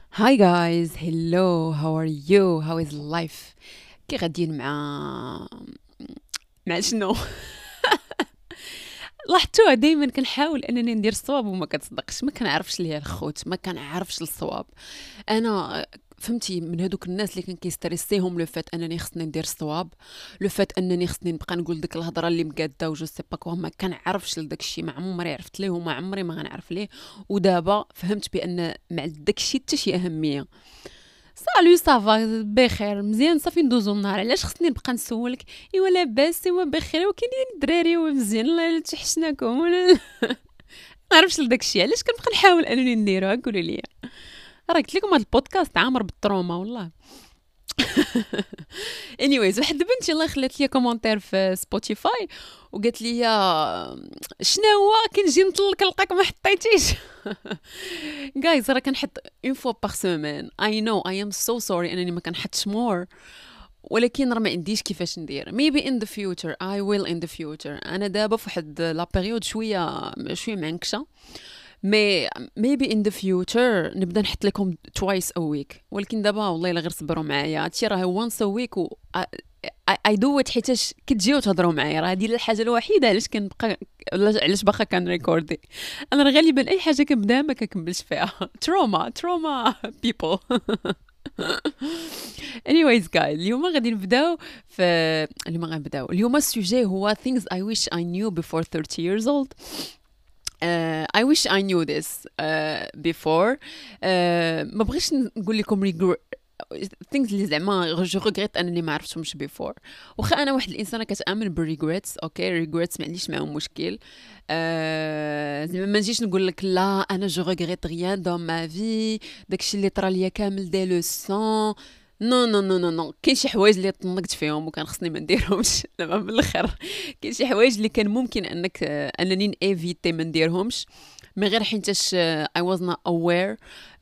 Hi guys, hello, how are you? How is life? كي غاديين مع شنو؟ لاحظتوها دائما كنحاول انني ندير الصواب وما كتصدقش، ما كنعرفش ليها الخوت، ما كنعرفش الصواب. انا فهمتي من هذوك الناس اللي كان كيستريسيهم لو فات انني خصني ندير الصواب، لو فات انني خصني نبقى نقول ديك الهضره اللي مقاده وجو سي با كوا، ما كنعرفش لداك الشيء، ما عمري عرفت ليه وما عمري ما غنعرف ليه. ودابا فهمت بان مع داك الشيء حتى شي اهميه. سالو صافا بخير مزيان صافي ندوزو النهار، علاش خصني نبقى نسولك؟ ايوا لاباس، ايوا بخير، وكاينين الدراري ومزيان الله الا تحشناكم ولا ما عرفتش لداك الشيء، علاش كنبقى نحاول انني نديرها؟ قولوا لي. راه قلت لكم هذا البودكاست عامر بالتروما والله. anyways، واحد البنت يلاه خلات لي كومونتير في سبوتيفاي وقالت لي شنو هو كنجي نطلق نلقاك ما حطيتيش. جايز راه كنحط اون فوا باغ سيمين. اي نو اي ام سو سوري انني ما كنحطش مور، ولكن راه ما عنديش كيفاش ندير. maybe in the future I will in the future. انا دابا في واحد لا بيريود شويه معنكشه، مي maybe in the future نبدا نحط لكم twice a week. ولكن دابا والله الا غير صبروا معايا، هادشي راه once a week و I do it حيتاش كتجيو تهضروا معايا. راه هادي الحاجه الوحيده علاش كنبقى، علاش باقا كنريكوردي. انا راه غالبا اي حاجه كنبداها ما كنكملش فيها. تروما people. anyways guys، اليوم غادي نبداو في اليوم السوجي هو things I wish I knew before 30 years old. I wish I knew this before. ما بغيتش نقول لكم things اللي زعما جو ريغريت انني ما عرفتهمش بيفور. واخا انا واحد الانسانه كتامن بالريغريتس، اوكي ريغريتس ما عنديش معاهم مشكل. زعما ما نجيش نقول لك لا انا جو ريغريت غيان دون ما في، داكشي اللي طرا ليا كامل دي لوسون. نو نو نو نو نو، كاين شي حوايج اللي طنقت فيهم وكان خصني ما نديرهمش. زعما من الاخر كاين شي حوايج اللي كان ممكن انني نيفيتي ما نديرهمش، من غير حيتاش I was not aware.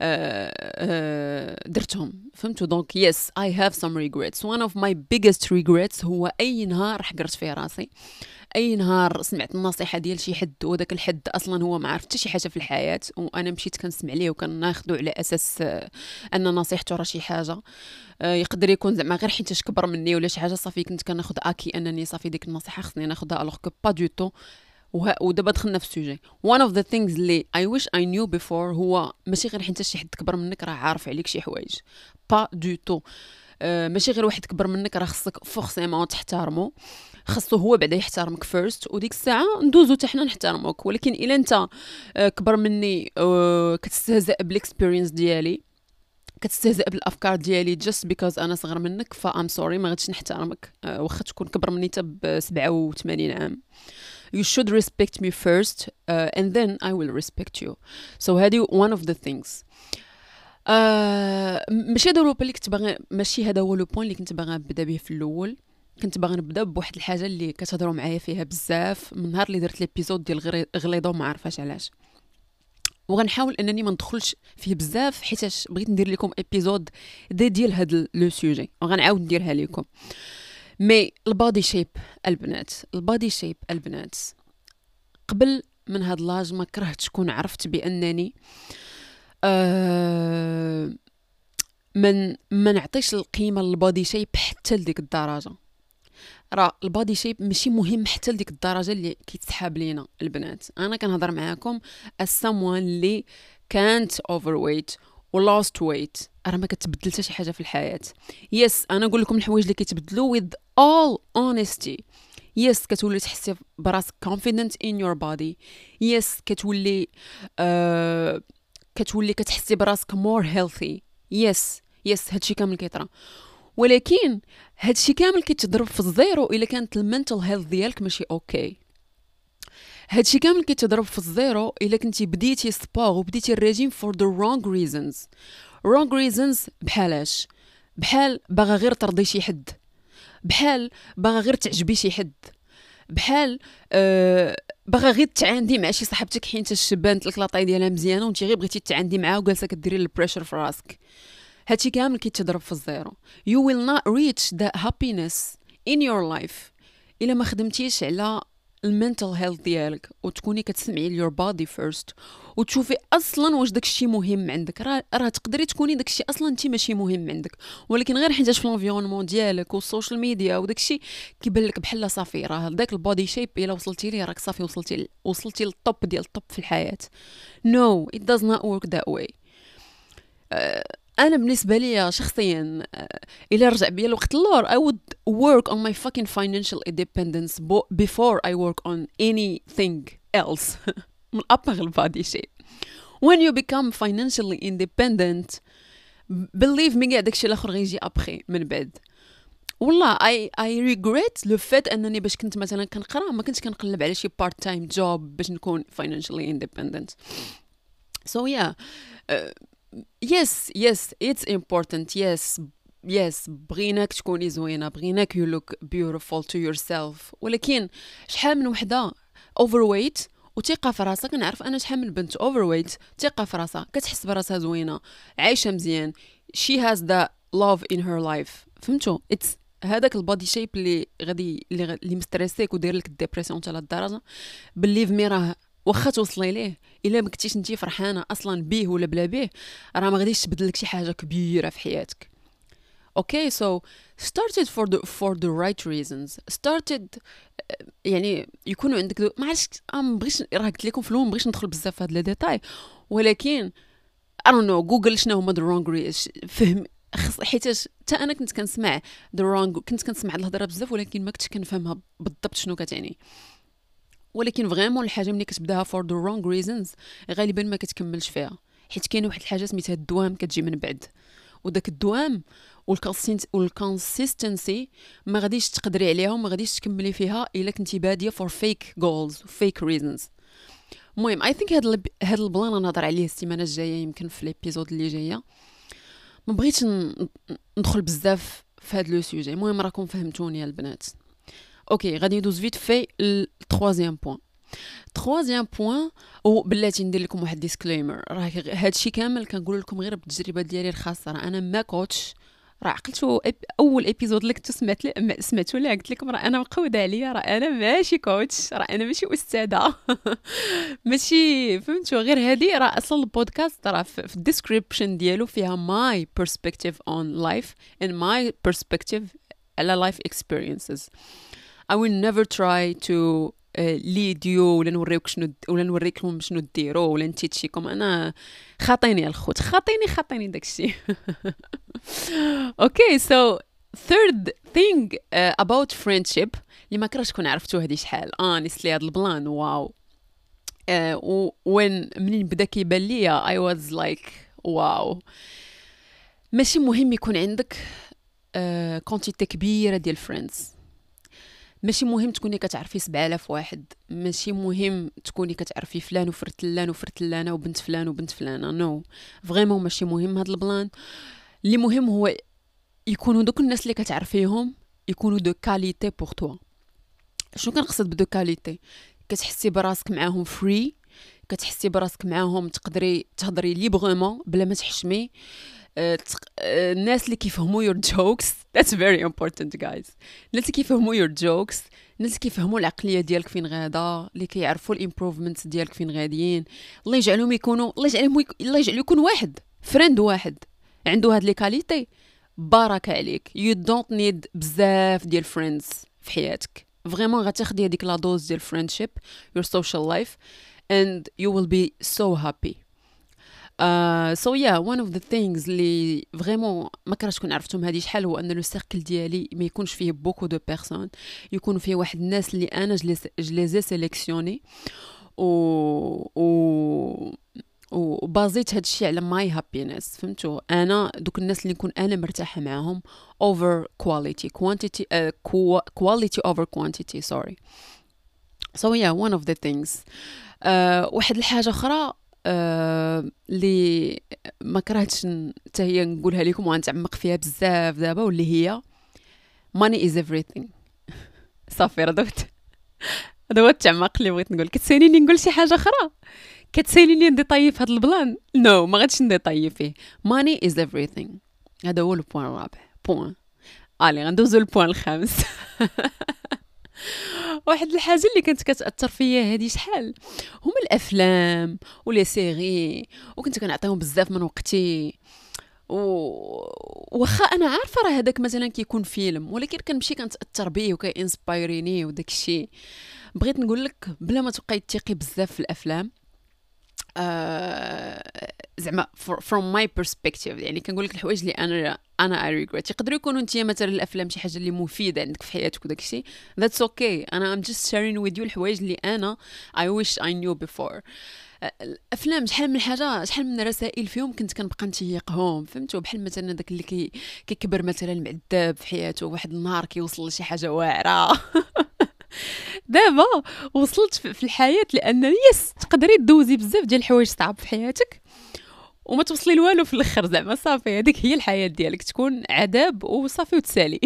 درتهم، فهمتوا؟ دونك yes I have some regrets. one of my biggest regrets هو اي نهار حقرت فيه راسي، اي نهار سمعت النصيحه ديال شي حد وداك الحد اصلا هو ما عرف حتى شي حاجه في الحياه، وانا مشيت كنسمع ليه وكناخذو على اساس ان نصيحته راه شي حاجه. يقدر يكون زعما غير حيتاش كبر مني ولا شي حاجه، صافي كنت كناخذ اكي انني صافي ديك النصيحه خصني ناخذها، الوغ كو با دو تو. ودابا دخلنا في السوجي. one of the things اللي I wish I knew before هو ماشي غير حيت شي حد كبر منك راه عارف عليك شي حوايج، با دو تو. ماشي غير واحد كبر منك راه خصك فورسيمون تحترمه، خاصو هو بعدا يحترمك فيرست، وديك الساعه ندوزو حتى حنا نحترموك. ولكن الا انت كبر مني كتستهزأ بالاكسبيرينس ديالي، كتستهزأ بالافكار ديالي just because انا صغر منك، فا ام سوري ما غاديش نحترمك. واخا تكون كبر مني حتى ب 87 عام. You should respect me first, and then I will respect you. So هذه one of the things. ماشي هذا هو اللي كنت باغي، ماشي هذا هو لو بوين اللي كنت باغا نبدا به في الاول. كنت باغا نبدا بواحد الحاجه اللي كتهضروا معايا فيها بزاف من نهار اللي درت ليبيزود ديال غليظه وما عارفاش علاش، وغنحاول انني ما ندخلش فيه بزاف حيتاش بغيت ندير لكم ايبيزود ديال هذا لو سوجي وغنعاود نديرها لكم. مي البادي شيب البنات، البادي شيب البنات، قبل من هاد لاج ما كرهتش كون عرفت بانني من ما نعطيش القيمه للبادي شيب حتى لديك الدرجه. راه البادي شيب ماشي مهم حتى لديك الدرجه اللي كيتسحاب لينا البنات. انا كنهضر معاكم as someone اللي كانت overweight و lost weight، راه ما كتبدل حتى شي حاجه في الحياه. يس انا نقول لكم الحوايج اللي كيتبدلوا with all honesty. يس كتولي تحسي براسك confident in your body. يس كتولي كتحسي براسك more healthy. يس هادشي كامل كيطرا، ولكن هادشي كامل كيتضرب في الزيرو الا كانت المنتل هيلث ديالك ماشي اوكي. هادشي كامل كيتضرب في الزيرو الا كنتي بديتي سبور وبديتي الريجيم for the wrong reasons. wrong reasons بحالاش؟ بحال باغا غير ترضي شي حد، بحال باغا غير تعجبي شي حد، بحال باغا غير تعاندي مع شي صاحبتك حيت بانت لك لاطاي ديالها مزيانه وانت غير بغيتي تعاندي معاها وجالسه كديري البريشر في راسك. هادشي كامل كيتضرب في الزيرو. you will not reach that happiness in your life الا ما خدمتيش على المنتال هيلث ديالك وتكوني كتسمعي ليور بادي فيرست وتشوفي اصلا واش داكشي مهم عندك. راه تقدري تكوني داكشي اصلا انت ماشي مهم عندك، ولكن غير حيتاش في الانفيرونمون ديالك والسوشيال ميديا وداكشي كيبان لك بحال صافي راه داك البودي شيب الا وصلتي ليه راك صافي وصلتي للطوب ديال الطوب في الحياه. No, it does not work that way. انا بالنسبه لي شخصيا الى رجع بيا الوقت اللور I would work on my fucking financial independence before I work on anything else. من ابغ البادي شيء. When you become financially independent, believe me كاع داكشي الاخر غيجي ابخي من بعد. والله I regret le fait انني باش كنت مثلا كنقرا ما كنتش كنقلب على شي part time job باش نكون financially independent. So yeah, yes it's important. yes بغيناك تكوني زوينه، بغيناك you look beautiful to yourself، ولكن شحال من وحده overweight وثقه في راسها. كنعرف انا شحال من بنت overweight ثقه في راسها كتحس براسها زوينه عايشه مزيان she has the love in her life. فهمتوا؟ it's هذاك البادي شيب اللي مستريسيك وداير لك الديبرسيون حتى للدرجه believe me راه واخا توصلي ليه الا ما كنتيش انتي فرحانه اصلا بيه ولا بلا بيه راه ما غاديش تبدل لك شي حاجه كبيره في حياتك. Okay, so started for the right reasons. Started يعني يكونوا عندك ما عرفتش ما بغيتش راه قلت لكم في ما بغيتش ندخل بزاف في هاد لي ديتاي، ولكن I don't know جوجل شنو هما the wrong فهم حيتاش حتى انا كنت كنسمع كنت كنسمع الهضره بزاف ولكن ما كنتش كنفهمها بالضبط شنو كتعني. ولكن فريمون الحاجه ملي كتبداها for the wrong reasons غالبا ما كتكملش فيها، حيت كاينه واحد الحاجه سميتها الدوام كتجي من بعد، وداك الدوام والكونسيستنسي ما غاديش تقدري عليها وما غاديش تكملي فيها الا كنتي باديه for fake goals fake reasons. المهم I think هاد البلان نهضر عليه السيمانه الجايه يمكن في ليبيزود اللي جايه. ما بغيتش ندخل بزاف في هاد لو سوجي. المهم راكم فهمتوني البنات. اوكي غادي ندوز فيت في التروازيام بوين وبلاتي ندير لكم واحد ديسكليمر. راه هادشي كامل كنقول لكم غير بالتجربه ديالي الخاصه، راه انا ما كوتش. راه عقلتوا اول ابيزود اللي كنتو سمعتوا ليه قلت لكم راه انا مقوده عليا، راه انا ماشي كوتش، راه انا ماشي استاذه ماشي فهمتوا. غير هادي راه اصلا البودكاست راه في الديسكريبشن ديالو فيها my perspective on life and my perspective على life experiences. I will never try to lead you ولا نوريك شنو ولا نوريكم شنو ديروا ولا نتيتشيكم. انا خاطيني الخوت خاطيني داكشي. Okay, so third thing about friendship اللي ما كرهتش كون عرفتو هذه شحال honestly هذا البلان واو. when منين بدا كيبان ليا I was like واو. ماشي مهم يكون عندك كونتيتي كبيره ديال فريندز، ماشي مهم تكوني كتعرفي 7000 واحد، ماشي مهم تكوني كتعرفي فلان وفرتلان وفرتلانه وبنت فلان وبنت فلانه. نو فريمون ماشي مهم هذا البلان. اللي مهم هو يكونوا دوك الناس اللي كتعرفيهم يكونوا دو كاليتي بور توا. شنو كنقصد بدو كاليتي؟ كتحسي براسك معاهم فري، كتحسي براسك معاهم تقدري تهضري ليبرمون بلا ما تحشمي. الناس اللي كيفهموا your jokes that's very important guys. الناس اللي كيفهموا your jokes، الناس اللي كيفهموا العقليه ديالك فين غادا، اللي كيعرفوا الامبروفمنتس ديالك فين غاديين. الله يجعلهم يكونوا الله يجعل يكون واحد فريند واحد عنده هاد لي كاليتي. بارك عليك. you don't need بزاف ديال friends في حياتك. فريمون غتاخدي هذيك لا دوز ديال friendship your social life and you will be so happy. So yeah, one of the things اللي فريمون ما كرهتش كون عرفتهم هذه شحال هو ان لو سيركل ديالي ما يكونش فيه بوكو دو بيرسون، يكون فيه واحد الناس اللي انا جليزي سيليكسيوني وبازيت هادشي على ماي هابينس. فهمتوا؟ انا دوك الناس اللي نكون انا مرتاحه معاهم over quality quantity quality over quantity sorry. So yeah, one of the things. واحد الحاجه اخرى اللي ما كرهتش حتى هي نقولها لكم وغنتعمق فيها بزاف دابا، واللي هي money is everything. صافي راه هذا هو التعمق اللي بغيت نقول. كتساليني نقول شي حاجه اخرى، كتساليني نديطاي في هذا البلان. نو ما غاديش نديطاي فيه. money is everything. هذا هو البوان الرابع. بوين الي غندوزو البوان الخامس. واحد الحاجه اللي كانت كتاثر فيا هذه شحال هما الافلام ولي سيري، وكنت كنعطيهم بزاف من وقتي. واخا انا عارفه راه هذاك مثلا كيكون فيلم، ولكن كنمشي كنتاثر بيه وكينسبايريني وداك الشيء. بغيت نقول لك بلا ما تبقاي تثقي بزاف في الافلام، زعما from my perspective، يعني كنقول لك الحوايج اللي انا I regret. يقدروا يكونوا انت مثلا الافلام شي حاجه اللي مفيده عندك في حياتك وداك الشيء، that's okay. انا I'm just sharing with you الحوايج اللي انا I wish I knew before. الافلام شحال من حاجه، شحال من رسائل فيهم كنت كنبقى نتيقهم، فهمتوا؟ بحال مثلا داك اللي كيكبر مثلا معذب في حياته، واحد النهار كيوصل لشي حاجه واعره. دابا وصلت في الحياه لان يس تقدري دوزي بزاف ديال الحوايج صعاب في حياتك وما توصلي لوالو في الاخر، زعما صافي هذيك هي الحياه ديالك، تكون عذاب وصافي وتسالي.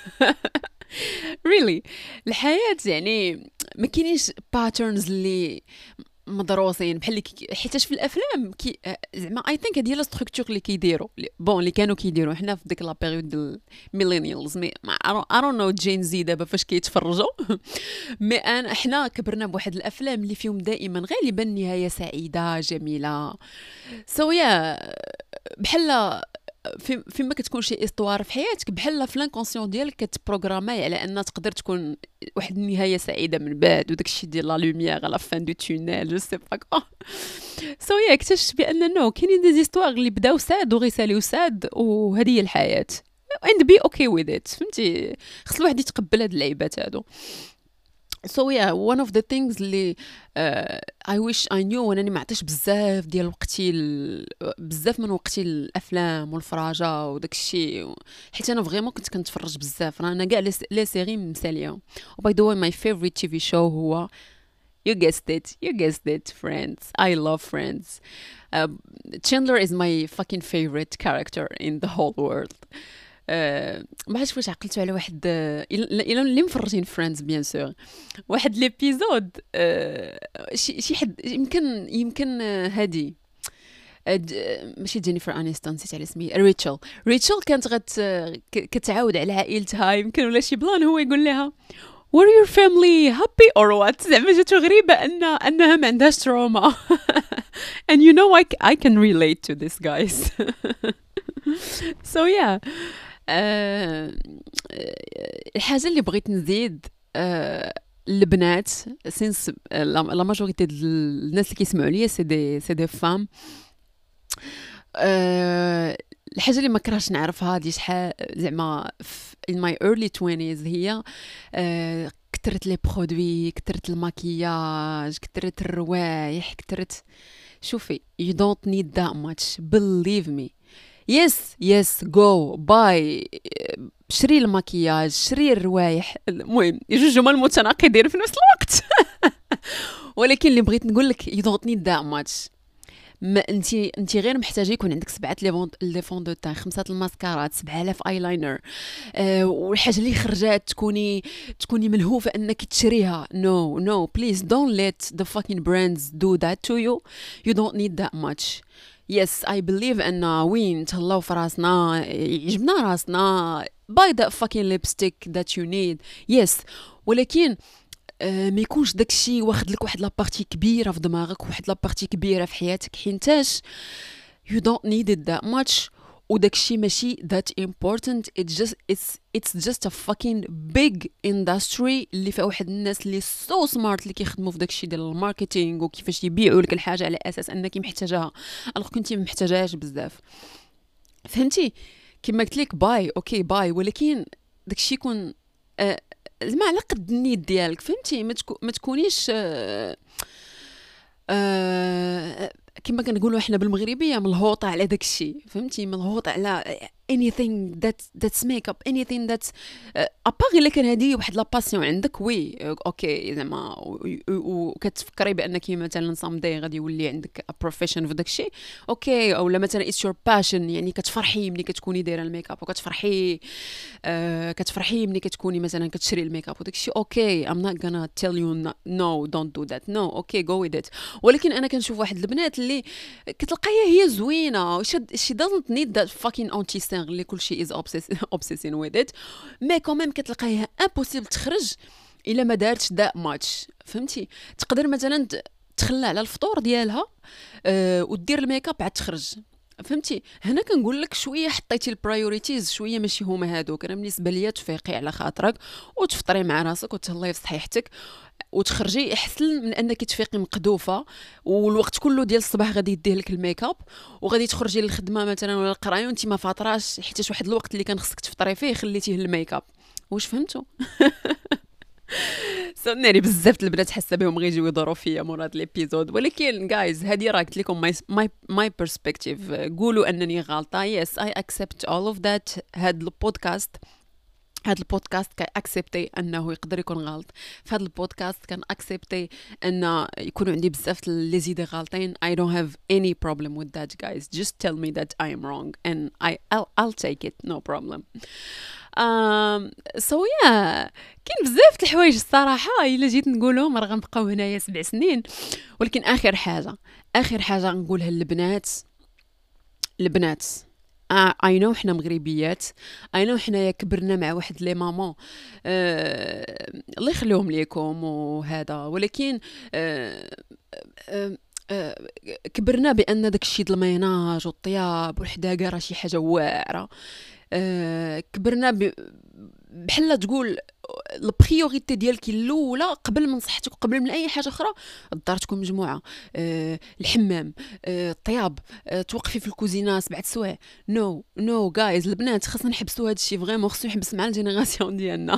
really الحياه يعني ما كاينينش باترنز اللي مدروسين بحال حيتاش في الافلام زعما اي ثينك هذه هي لا ستركتور اللي كيديروا بون اللي كانوا كيديروا حنا في ديك لا بيريود ديال الميلينيالز. مي اي دون نو جين زي دابا فاش كيتفرجوا. مي انا حنا كبرنا بواحد الافلام اللي فيهم دائما غالبا نهايه سعيده جميله. سو يا بحال فيما كتكون شي استوار في حياتك، بحال في لانكونسيون ديالك كتبروغراماي على ان تقدر تكون واحد النهايه سعيده من بعد، وداك الشيء ديال لا لوميير على فان دو تونيل جو سي با كوا. سو يا اكتشفت بان نو كاينين دي زيستوار اللي بداو ساد وغيساليو ساد، وهذه هي الحياه and be okay with it. فهمتي؟ خص الواحد يتقبل هاد اللعيبات هادو. So yeah, one of the things اللي I wish I knew وانني ما عطيش بزاف ديال وقتي بزاف من وقتي الافلام والفراجه وداك الشيء، حيت انا فريمون كنت كنتفرج بزاف. انا كاع لي سيري مساليهم. وباي ذا واي ماي فيفوريت تي في شو هو you guessed it Friends. I love Friends. Chandler is my fucking favorite character in the whole world. ما عرفتش واش عقلتوا على واحد الا اللي مفرجين فريندز بيان سور، واحد ليبيزود شي حد يمكن هادي ماشي جينيفر انيستون، نسيت على اسمي، ريتشل كانت كتعاود على عائلتها يمكن ولا شي بلان، هو يقول لها were your family happy or what. زعما جاتو غريبه انها ما عندهاش تروما. and you know I can relate to this guys. so yeah. الحاجه اللي بغيت نزيد البنات، سينس لا ماجوريتي الناس اللي كيسمعوا ليا سي دي فام، الحاجه اللي ما كرهتش نعرفها هذه شحال زعما in my early 20s هي كثرت لي برودوي، كثرت الماكياج، كثرت الروايح، كثرت. شوفي you don't need that much believe me. yes go buy، شري الماكياج، شري الروايح، المهم جوج جمل متناقضين في نفس الوقت. ولكن اللي بغيت نقول لك you don't need that much. ما انت غير محتاجه يكون عندك 7 لي فون دو تان، 5 الماسكارات، 7000 ايلاينر، والحاجه اللي خرجات تكوني ملهوفه انك تشريها. no please don't let the fucking brands do that to you don't need that much. yes I believe ان وين تهلاو في راسنا يعجبنا راسنا buy that fucking lipstick that you need yes، ولكن ما يكونش داكشي واخد لك واحد لابارتي كبيره في دماغك، واحد لابارتي كبيره في حياتك، حينتاش you don't need it that much. وداكشي ماشي that important. it's just a fucking big industry اللي فيها واحد الناس اللي so smart اللي كيخدموا في داكشي ديال الماركتينغ وكيفاش يبيعوا لك الحاجه على اساس انك محتاجاها الوغ كنتي ما محتاجاهاش بزاف. فهمتي؟ كما قلت لك باي اوكي باي، ولكن داكشي يكون زعما على قد النيت ديالك. فهمتي؟ ما تكونيش كما كنقولوا احنا بالمغربيه ملهوطه على داك الشيء. فهمتي؟ ملهوطه على anything that's makeup anything that's اباغي الا كان هذه واحد لا باسيون عندك وي اوكي زعما وكتفكري بانك مثلا someday غادي يولي عندك بروفيشن في داك الشيء اوكي، او لا مثلا it's your passion، يعني كتفرحي ملي كتكوني دايره الميك اب، وكتفرحي ملي كتكوني مثلا كتشري الميك اب وداك الشيء اوكي I'm not gonna tell you no don't do that no okay go with it. ولكن انا كنشوف واحد البنات اللي كتلقاها هي زوينه she doesn't need that fucking anti اللي كل شيء is obsessing with it، مي كوميم كتلقايها امبوسيبل تخرج الا ما دارتش دا ماتش، فهمتي؟ تقدر مثلا تخلى على الفطور ديالها ودير الميك اب عاد تخرج، فهمتي؟ هنا كنقول لك شويه حطيتي البرايوريتيز شويه ماشي هما هادوك. انا بالنسبه ليا تفيقي على خاطرك وتفطري مع راسك وتهلاي في صحيحتك وتخرجي احسن من انك تفيقي مقدوفه والوقت كله ديال الصباح غادي يديه لك الميك اب وغادي تخرجي للخدمه مثلا ولا القرايه وانت ما فاطراش حيت واحد الوقت اللي كان خصك تفطري فيه خليتيه الميك اب. واش فهمتوا؟ صناري بزاف البنات حاسه بهم غيجيو يدوروا فيا مور هاد ليبيزود، ولكن جايز هادي راه قلت لكم ماي بيرسبكتيف. قولوا انني غلطه، يس اي اكسبت اول اوف ذات. هاد البودكاست كاكسبتي انه يقدر يكون غلط، في هاد البودكاست كان اكسبتي ان يكونوا عندي بزاف لي زيدي غالطين. I don't have any problem with that guys, just tell me that I am wrong and I'll take it, no problem. so yeah كاين بزاف د الحوايج الصراحه الا جيت نقولهم راه غنبقاو هنايا 7 سنين. ولكن اخر حاجه نقولها البنات اي نو حنا مغربيات، اي نو حنايا كبرنا مع واحد لي ماما الله يخليهم ليكم وهذا، ولكن كبرنا بان داكشي د الميناج والطياب والحداقه راه شي حاجه واعره. كبرنا بحال تقول البريوريتي ديالك الاولى قبل من صحتك وقبل من اي حاجه اخرى الدار تكون مجموعه، الحمام، الطياب، توقفي في الكوزينه 7 سوايع. نو جايز البنات خاصنا نحبسوا هذا الشيء فريمون، خصو يحبس مع الجينيراسيون ديالنا.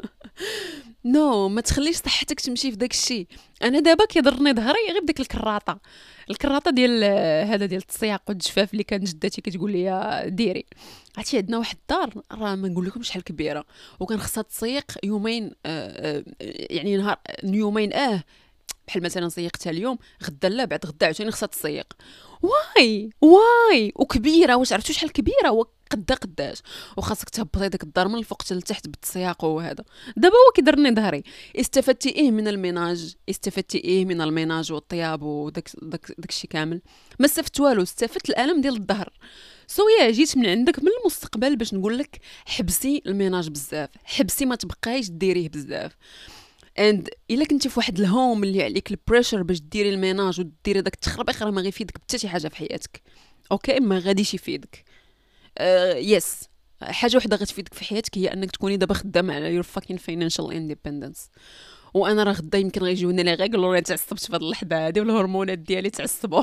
ما تخليش صحتك تمشي في داك الشيء. انا دابا كيضرني ظهري غير بديك الكراطه ديال هذا ديال التصياق والجفاف اللي كانت جدتي كتقول لي ديري. عرفتي عندنا واحد الدار راه ما نقول لكم شحال كبيره وكان خصها تسيق يومين، يعني نهار يومين بحال مثلا سيقتها اليوم غدا لا بعد غدا عاوتاني خصها تسيق. واي وكبيره، واش عرفتوا شحال كبيره قداش وخاصك تهبطي داك الدار من الفوق حتى لتحت بالتسياق وهذا. دابا هو كيضرني ظهري. استفدتي ايه من الميناج؟ استفدتي ايه من الميناج والطياب وداك الشيء كامل؟ ما استفدت والو، استفدت الالم ديال الظهر. يا جيت من عندك من المستقبل باش نقول لك حبسي الميناج بزاف، حبسي ما تبقايش ديريه بزاف. اند الا كنتي في واحد الهوم اللي عليك البريشر باش ديري الميناج وديري داك التخربيق راه ما غيفيدك حتى شي حاجه في حياتك. اوكي ما غاديش يفيدك. يس حاجه وحده غتفيدك في حياتك هي انك تكوني دابا خدامه على يور فاكين فاينانشال اندبندنس. وانا راه غدا يمكن غيجيوني لي غير يقولوا لي تعصبت في هذه اللحظه هذه والهرمونات ديالي تعصبوا.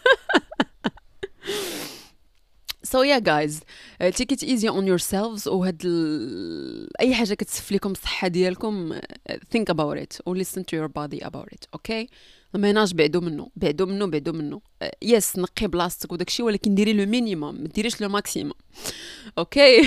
So yeah guys, take it easy on yourselves. وهاد اي حاجه كتسف لكم الصحه ديالكم think about it or listen to your body about it. اوكي الميناج بعدو منه. يس نقي بلاصتك وداكشي ولكن ديري لو مينيموم ما ديريش لو ماكسيموم. اوكي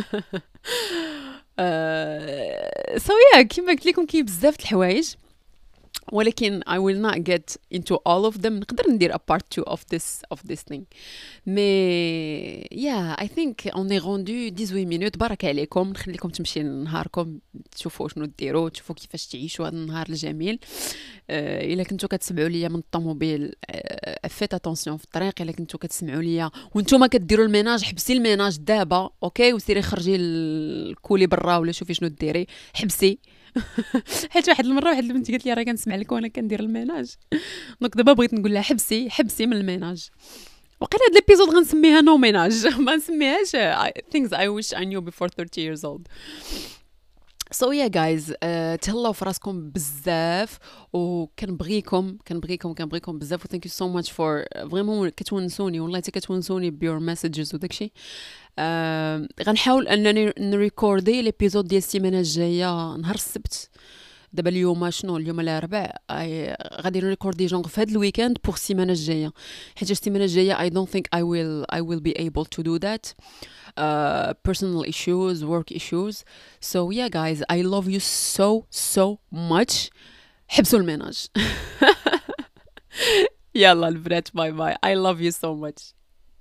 so yeah كيما قلت لكم كاين بزاف د الحوايج ولكن I will not get into all of them. نقدر ندير a part 2 of this thing. مي yeah I think on est rendu 18 minutes. بارك عليكم، نخليكم تمشي لنهاركم تشوفوا شنو ديروا، تشوفوا كيفاش تعيشوا هذا النهار الجميل. الا كنتو كتسمعوا ليا من الطوموبيل فيت اتونسيون في الطريق. الا كنتو كتسمعوا ليا وانتم كديروا الميناج حبسي الميناج دابا اوكي وسيري خرجي الكولي برا ولا شوفي شنو ديري حبسي. حيت واحد المره واحد البنت قالت لي راه كنسمع لك وانا كندير الميناج. دونك دابا بغيت نقول لها حبسي من الميناج. وقيلا هاد ليبيزود غنسميها نو ميناج ما نسميهاش things I wish I knew before 30 years old. So yeah guys تهلاو في راسكم بزاف وكنبغيكم بزاف و thank you so much for vraiment كتونسوني والله حتى كتونسوني بيور مسجز وداكشي. غنحاول انني نريكوردي ليبيزود ديال السيمانه الجايه نهار السبت. دابا اليوم شنو اليوم الاربعاء غادي نريكوردي جونغ في هذا الويكاند بوغ السيمانه الجايه حيت السيمانه الجايه I don't think I will be able to do that. Personal issues, work issues. So yeah guys I love you so much. حبسوا الميناج. يلا البنات باي I love you so much.